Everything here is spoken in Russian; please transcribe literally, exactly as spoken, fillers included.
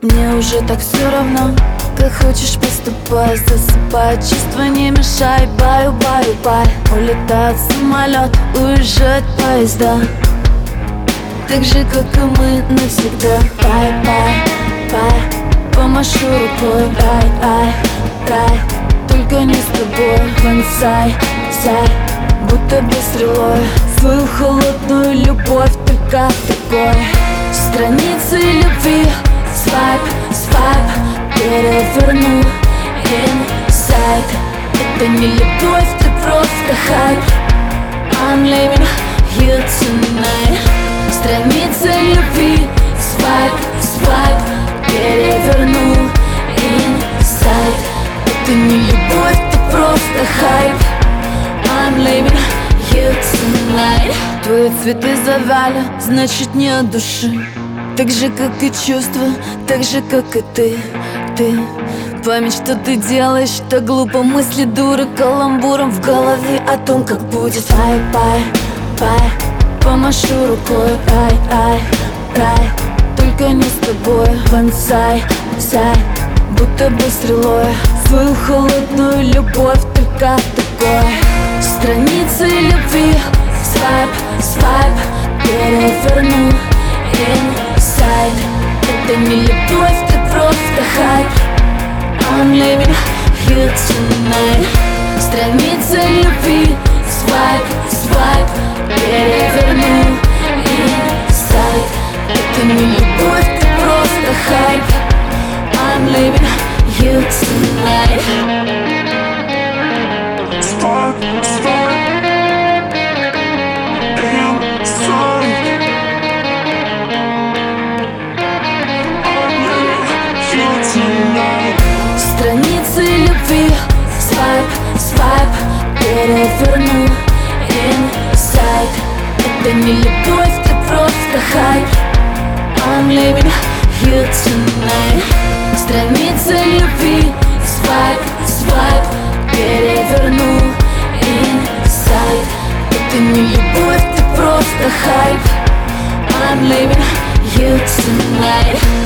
Мне уже так все равно, как хочешь поступай. Засыпай, чувства не мешай. Баю, баю, бай. Улетает самолет, уезжают поезда, так же, как и мы навсегда. Бай, бай, бай. Помашу рукой, ай, ай, рай. Только не с тобой. Вонзай, зай, будто бы стрелой свою холодную любовь, только такой страницы любви. Свайп, свайп, переверну инсайд. Это не любовь, ты просто хайп. I'm leaving you tonight. Страница любви. Свайп, свайп, переверну инсайд. Это не любовь, ты просто хайп. I'm leaving you tonight. Твои цветы завяли, значит не от души, так же, как и чувства, так же, как и ты, ты. Память, что ты делаешь, так глупо. Мысли дуры каламбуром в голове о том, как будет. Ай, бай, бай. Помашу рукой, ай, ай, рай. Только не с тобой. Вонзай, зай, будто бы стрелой свою холодную любовь, только такой страницы любви. Свайп, свайп, переверну инсайд. Это не любовь, ты просто хайп. I'm leaving you tonight. Страница любви. Свайп, свайп, переверну инсайд. Это не любовь, ты просто хайп. I'm leaving you tonight. Spark, spark, inside. I'm leaving you tonight. Страницы любви. Свайп, свайп, переверну инсайд. Это не любовь, ты просто хайп. I'm leaving you tonight. Страница любви. Свайп, свайп, переверну инсайд. Это не любовь, ты просто хайп. I'm leaving you tonight.